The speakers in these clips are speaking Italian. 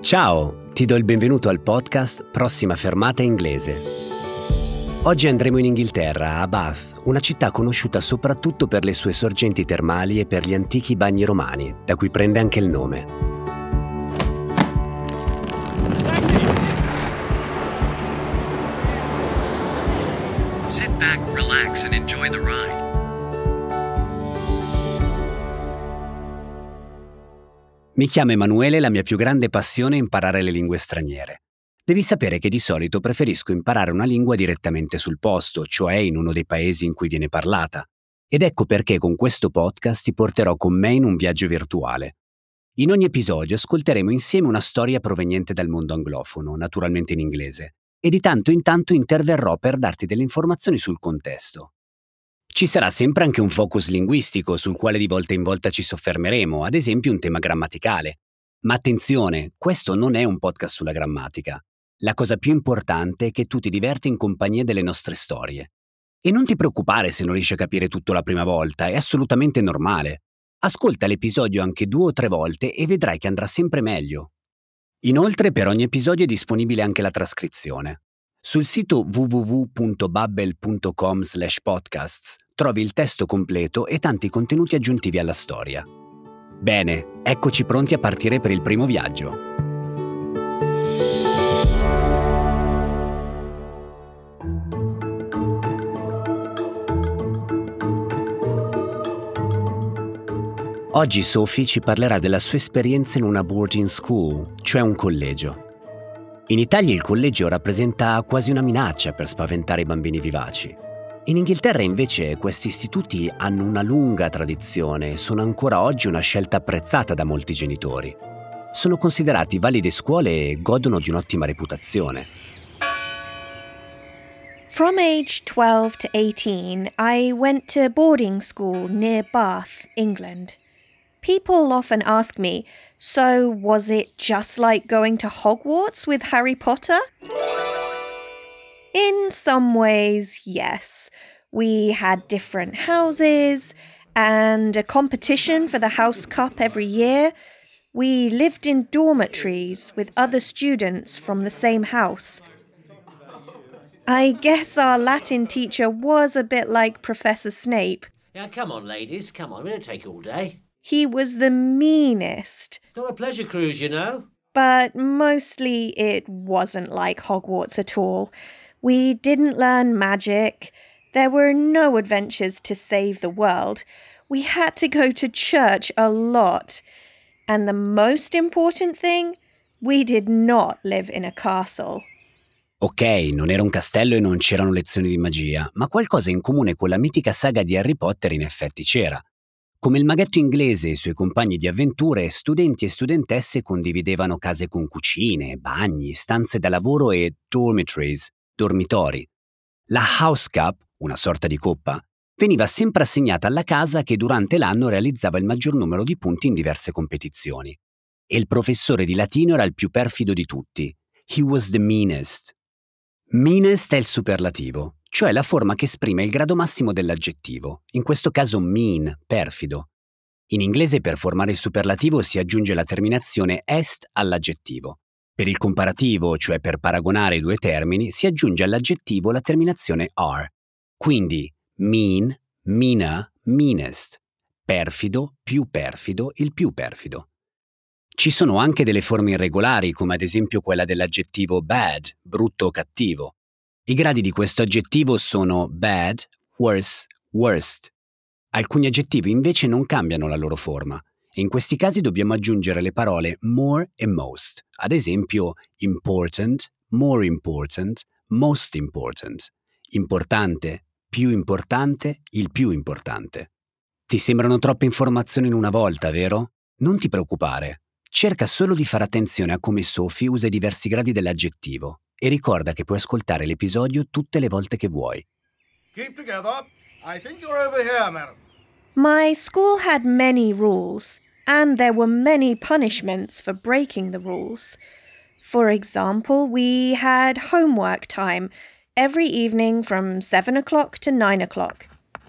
Ciao, ti do il benvenuto al podcast Prossima fermata inglese. Oggi andremo in Inghilterra, a Bath, una città conosciuta soprattutto per le sue sorgenti termali e per gli antichi bagni romani, da cui prende anche il nome. Sit back, relax and enjoy the ride. Mi chiamo Emanuele e la mia più grande passione è imparare le lingue straniere. Devi sapere che di solito preferisco imparare una lingua direttamente sul posto, cioè in uno dei paesi in cui viene parlata. Ed ecco perché con questo podcast ti porterò con me in un viaggio virtuale. In ogni episodio ascolteremo insieme una storia proveniente dal mondo anglofono, naturalmente in inglese, e di tanto in tanto interverrò per darti delle informazioni sul contesto. Ci sarà sempre anche un focus linguistico sul quale di volta in volta ci soffermeremo, ad esempio un tema grammaticale. Ma attenzione, questo non è un podcast sulla grammatica. La cosa più importante è che tu ti diverti in compagnia delle nostre storie. E non ti preoccupare se non riesci a capire tutto la prima volta, è assolutamente normale. Ascolta l'episodio anche 2 o 3 volte e vedrai che andrà sempre meglio. Inoltre per ogni episodio è disponibile anche la trascrizione. Sul sito www.babbel.com/podcasts trovi il testo completo e tanti contenuti aggiuntivi alla storia. Bene, eccoci pronti a partire per il primo viaggio. Oggi Sophie ci parlerà della sua esperienza in una boarding school, cioè un collegio. In Italia il collegio rappresenta quasi una minaccia per spaventare i bambini vivaci. In Inghilterra invece questi istituti hanno una lunga tradizione e sono ancora oggi una scelta apprezzata da molti genitori. Sono considerati valide scuole e godono di un'ottima reputazione. From age 12 to 18, I went to boarding school near Bath, England. People often ask me, so was it just like going to Hogwarts with Harry Potter? In some ways, yes. We had different houses and a competition for the House Cup every year. We lived in dormitories with other students from the same house. I guess our Latin teacher was a bit like Professor Snape. Now, come on, ladies, come on. We don't take all day. He was the meanest, It's not a pleasure cruise, you know. but mostly it wasn't like Hogwarts at all. We didn't learn magic. There were no adventures to save the world. We had to go to church a lot. And the most important thing, we did not live in a castle. Ok, non era un castello e non c'erano lezioni di magia, ma qualcosa in comune con la mitica saga di Harry Potter in effetti c'era. Come il maghetto inglese e i suoi compagni di avventure, studenti e studentesse condividevano case con cucine, bagni, stanze da lavoro e dormitories, dormitori. La House Cup, una sorta di coppa, veniva sempre assegnata alla casa che durante l'anno realizzava il maggior numero di punti in diverse competizioni. E il professore di latino era il più perfido di tutti. He was the meanest. Meanest è il superlativo, cioè la forma che esprime il grado massimo dell'aggettivo, in questo caso mean, perfido. In inglese per formare il superlativo si aggiunge la terminazione est all'aggettivo. Per il comparativo, cioè per paragonare i due termini, si aggiunge all'aggettivo la terminazione are. Quindi mean, meaner, meanest. Perfido, il più perfido. Ci sono anche delle forme irregolari, come ad esempio quella dell'aggettivo bad, brutto o cattivo. I gradi di questo aggettivo sono bad, worse, worst. Alcuni aggettivi invece non cambiano la loro forma, e in questi casi dobbiamo aggiungere le parole more e most, ad esempio important, more important, most important, importante, il più importante. Ti sembrano troppe informazioni in una volta, vero? Non ti preoccupare. Cerca solo di fare attenzione a come Sophie usa i diversi gradi dell'aggettivo e ricorda che puoi ascoltare l'episodio tutte le volte che vuoi. Keep together. I think you're over here, madam. My school had many rules, and there were many punishments for breaking the rules. For example, we had homework time every evening from 7 o'clock to 9 o'clock.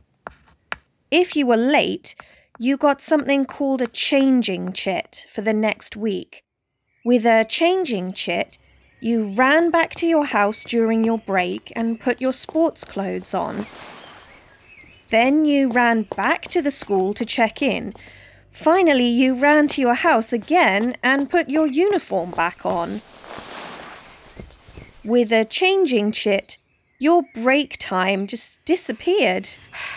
If you were late, you got something called a changing chit for the next week. With a changing chit, you ran back to your house during your break and put your sports clothes on. Then you ran back to the school to check in. Finally, you ran to your house again and put your uniform back on. With a changing chit, your break time just disappeared.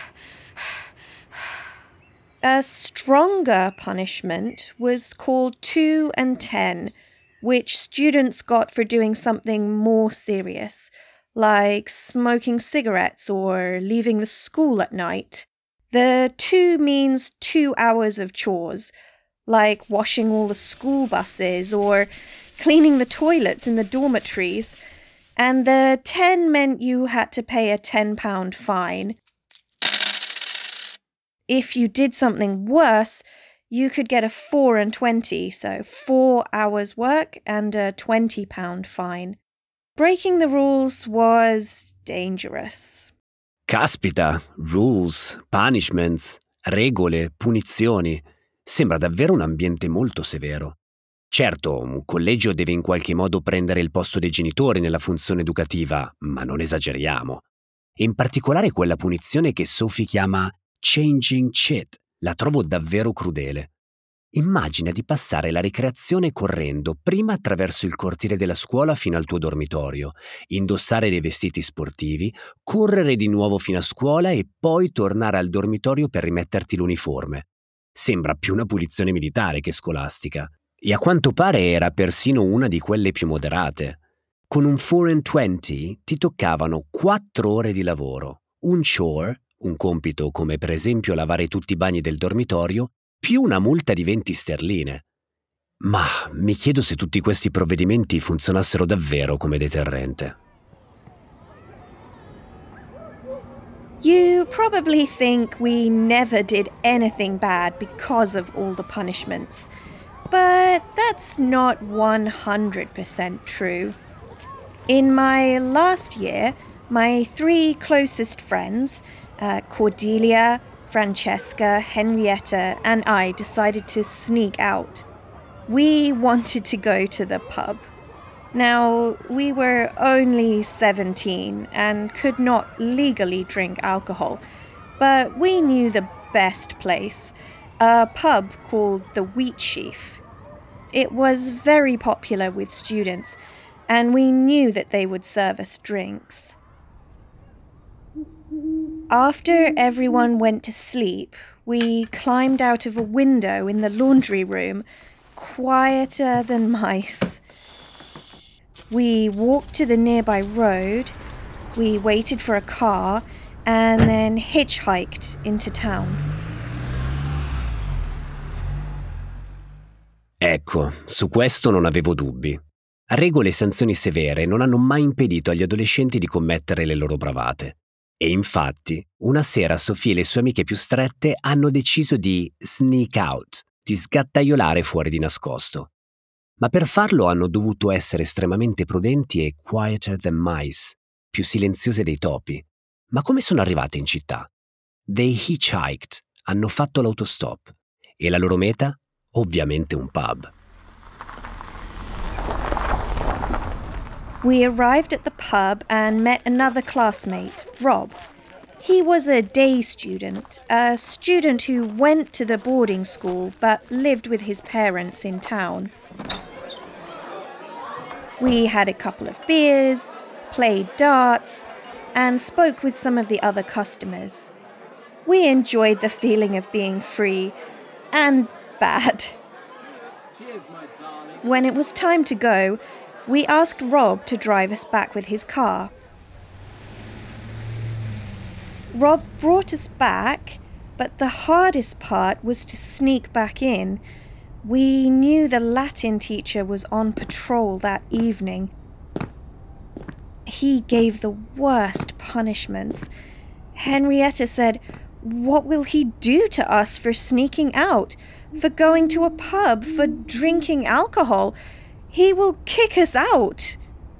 A stronger punishment was called 2 and 10, which students got for doing something more serious, like smoking cigarettes or leaving the school at night. The 2 means 2 hours of chores, like washing all the school buses or cleaning the toilets in the dormitories. And the 10 meant you had to pay a £10 fine. If you did something worse, you could get a 4 and 20, so 4 hours work and a £20 fine. Breaking the rules was dangerous. Caspita, rules, punishments, regole, punizioni. Sembra davvero un ambiente molto severo. Certo, un collegio deve in qualche modo prendere il posto dei genitori nella funzione educativa, ma non esageriamo. In particolare quella punizione che Sophie chiama changing chit, la trovo davvero crudele. Immagina di passare la ricreazione correndo prima attraverso il cortile della scuola fino al tuo dormitorio, indossare dei vestiti sportivi, correre di nuovo fino a scuola e poi tornare al dormitorio per rimetterti l'uniforme. Sembra più una punizione militare che scolastica. E a quanto pare era persino una di quelle più moderate. Con un 4 and 20 ti toccavano 4 ore di lavoro, un chore, un compito come per esempio lavare tutti i bagni del dormitorio, più una multa di 20 sterline. Ma mi chiedo se tutti questi provvedimenti funzionassero davvero come deterrente. You probably think we never did anything bad because of all the punishments. But that's not 100% true. In my last year, my 3 closest friends, Cordelia, Francesca, Henrietta, and I decided to sneak out. We wanted to go to the pub. Now, we were only 17 and could not legally drink alcohol, but we knew the best place, a pub called the Wheat Sheaf. It was very popular with students, and we knew that they would serve us drinks. After everyone went to sleep, we climbed out of a window in the laundry room, quieter than mice. We walked to the nearby road, we waited for a car, and then hitchhiked into town. Ecco, su questo non avevo dubbi. Regole e sanzioni severe non hanno mai impedito agli adolescenti di commettere le loro bravate. E infatti, una sera Sophie e le sue amiche più strette hanno deciso di sneak out, di sgattaiolare fuori di nascosto. Ma per farlo hanno dovuto essere estremamente prudenti e quieter than mice, più silenziose dei topi. Ma come sono arrivate in città? They hitchhiked, hanno fatto l'autostop. E la loro meta? Ovviamente un pub. We arrived at the pub and met another classmate, Rob. He was a day student, a student who went to the boarding school but lived with his parents in town. We had a couple of beers, played darts, and spoke with some of the other customers. We enjoyed the feeling of being free and bad. When it was time to go, we asked Rob to drive us back with his car. Rob brought us back, but the hardest part was to sneak back in. We knew the Latin teacher was on patrol that evening. He gave the worst punishments. Henrietta said, "What will he do to us for sneaking out, for going to a pub, for drinking alcohol? He will kick us out."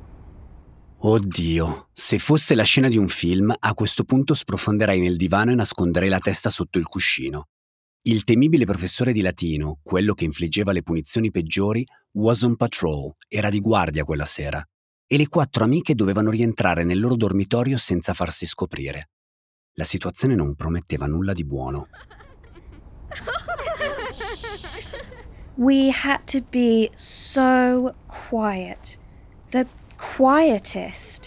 Oddio, se fosse la scena di un film, a questo punto sprofonderei nel divano e nasconderei la testa sotto il cuscino. Il temibile professore di latino, quello che infliggeva le punizioni peggiori, was on patrol, era di guardia quella sera, e le 4 amiche dovevano rientrare nel loro dormitorio senza farsi scoprire. La situazione non prometteva nulla di buono. We had to be so quiet. The quietest.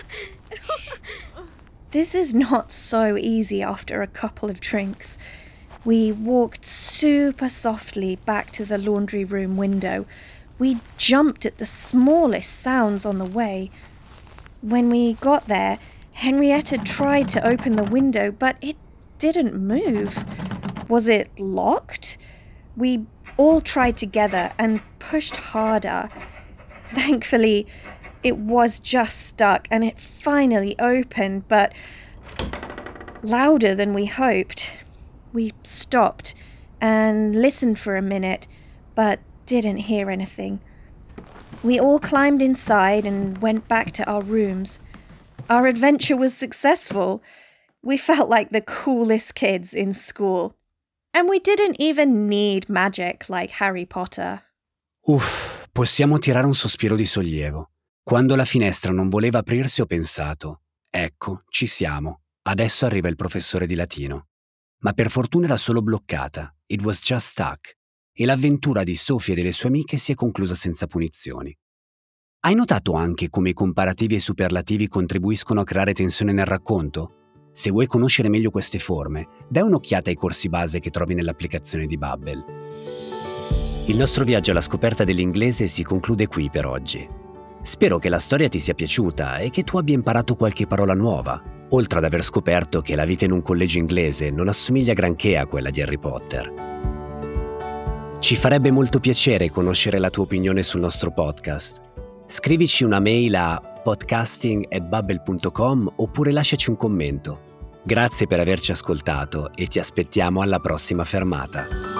This is not so easy after a couple of drinks. We walked super softly back to the laundry room window. We jumped at the smallest sounds on the way. When we got there, Henrietta tried to open the window, but it didn't move. Was it locked? We all tried together and pushed harder. Thankfully, it was just stuck and it finally opened, but louder than we hoped. We stopped and listened for a minute, but didn't hear anything. We all climbed inside and went back to our rooms. Our adventure was successful. We felt like the coolest kids in school. And we didn't even need magic like Harry Potter. Uff, possiamo tirare un sospiro di sollievo. Quando la finestra non voleva aprirsi ho pensato, ecco, ci siamo, adesso arriva il professore di latino. Ma per fortuna era solo bloccata, it was just stuck, e l'avventura di Sophie e delle sue amiche si è conclusa senza punizioni. Hai notato anche come i comparativi e i superlativi contribuiscono a creare tensione nel racconto? Se vuoi conoscere meglio queste forme, dai un'occhiata ai corsi base che trovi nell'applicazione di Babbel. Il nostro viaggio alla scoperta dell'inglese si conclude qui per oggi. Spero che la storia ti sia piaciuta e che tu abbia imparato qualche parola nuova, oltre ad aver scoperto che la vita in un collegio inglese non assomiglia granché a quella di Harry Potter. Ci farebbe molto piacere conoscere la tua opinione sul nostro podcast. Scrivici una mail a podcasting@babbel.com oppure lasciaci un commento. Grazie per averci ascoltato e ti aspettiamo alla prossima fermata.